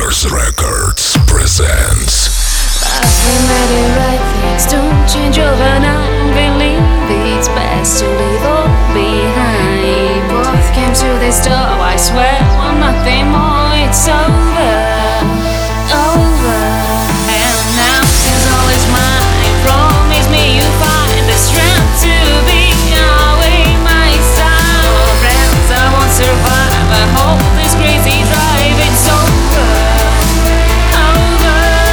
Clubmasters Records presents. But we made it right, things don't change overnight. Believe it's best to leave all behind. Both came to this door, I swear, want nothing more. It's over, over. And now since all is mine, promise me you'll find the strength to be away my side. Oh, friends, I won't survive. I hope this crazy drive, it's over, over.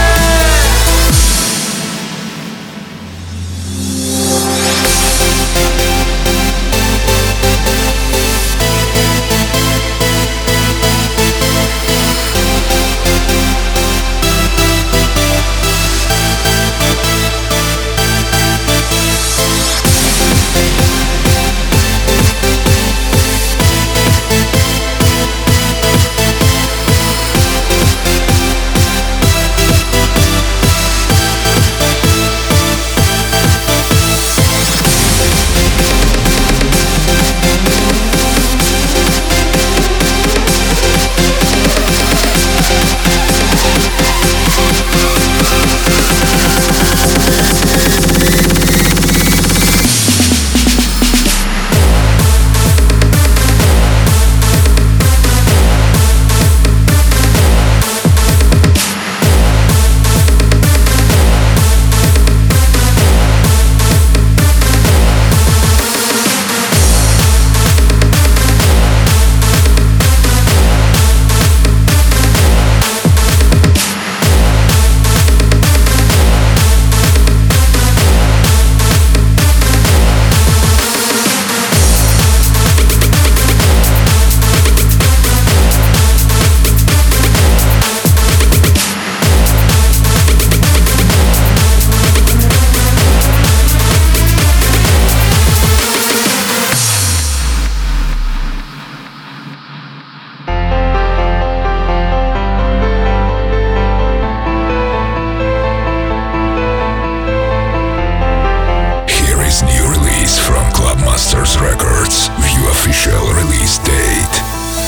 Clubmasters Records, view official release date.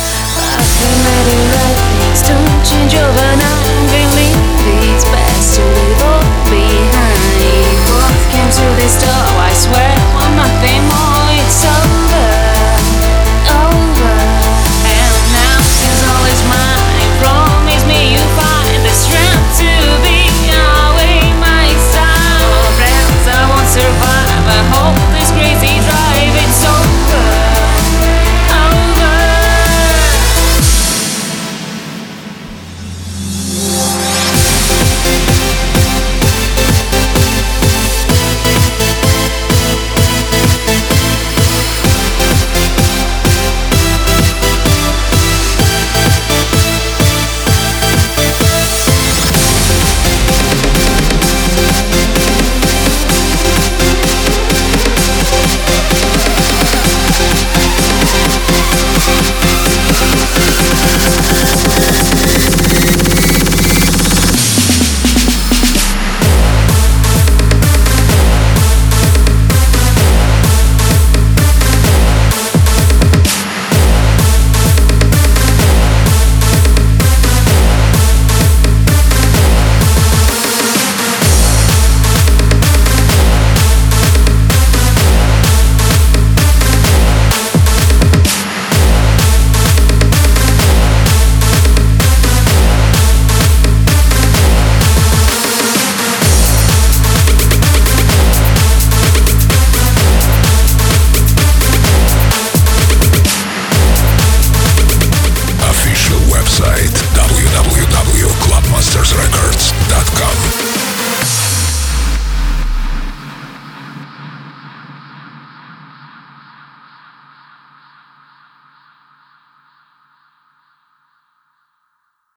But we made it right, things don't change overnight. Believe it's best to leave all behind. Both came to this door, I swear, want nothing more.